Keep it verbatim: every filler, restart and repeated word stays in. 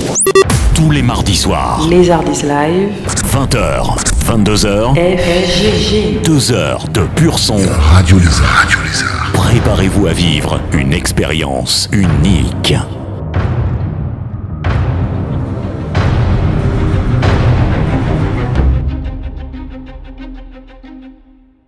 Tous les mardis soirs. Les Hardis Live. vingt heures, vingt-deux heures. F G G. deux heures de pur son. Radio Lézard. Radio Lézard. Préparez-vous à vivre une expérience unique.